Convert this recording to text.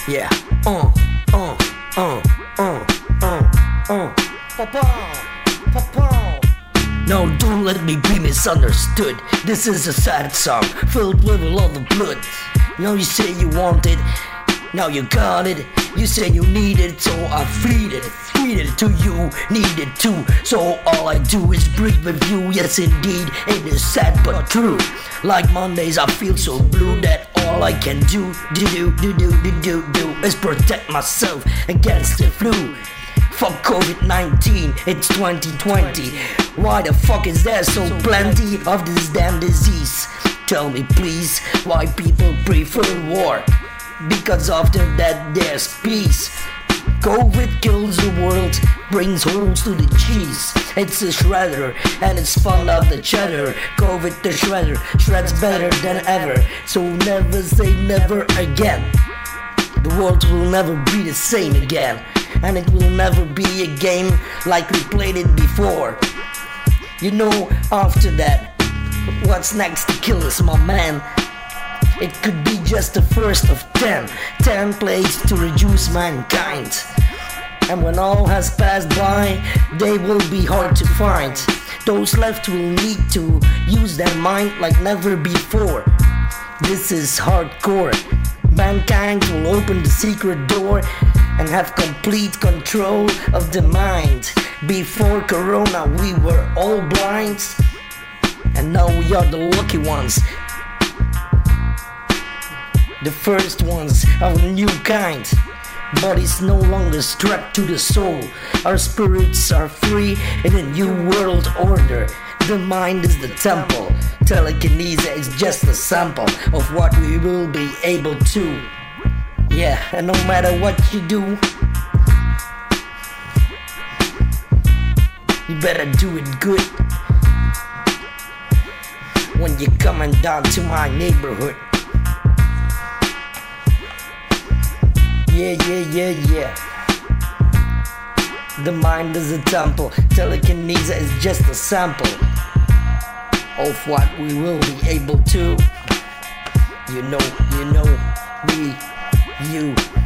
Yeah. Uh. Papa. No, don't let me be misunderstood. This is a sad song filled with a lot of blood. You say you want it, now you got it. You say you need it, so I feed it to you, need it too. So all I do is breathe with you. Yes indeed, it is sad but true. Like Mondays I feel so blue that all I can do is protect myself against the flu. Fuck COVID-19, it's 2020. Why the fuck is there so plenty of this damn disease? Tell me please, why people prefer war? Because after that there's peace. COVID kills the world, brings holes to the cheese. It's a shredder, and it's fun of the cheddar. COVID the shredder, shreds better than ever. So never say never again. The world will never be the same again. And it will never be a game like we played it before. After that, what's next to kill us, my man? It could be just the first of 10 plagues to reduce mankind. And when all has passed by, they will be hard to find. Those left will need to use their mind like never before. This is hardcore. Mankind will open the secret door and have complete control of the mind. Before Corona we were all blind, and now we are the lucky ones, the first ones of a new kind. Bodies no longer strapped to the soul. Our spirits are free in a new world order. The mind is the temple. Telekinesis is just a sample of what we will be able to. Yeah, and no matter what you do, you better do it good. When you're coming down to my neighborhood. Yeah. The mind is a temple. Telekinesis is just a sample of what we will be able to. Me, you.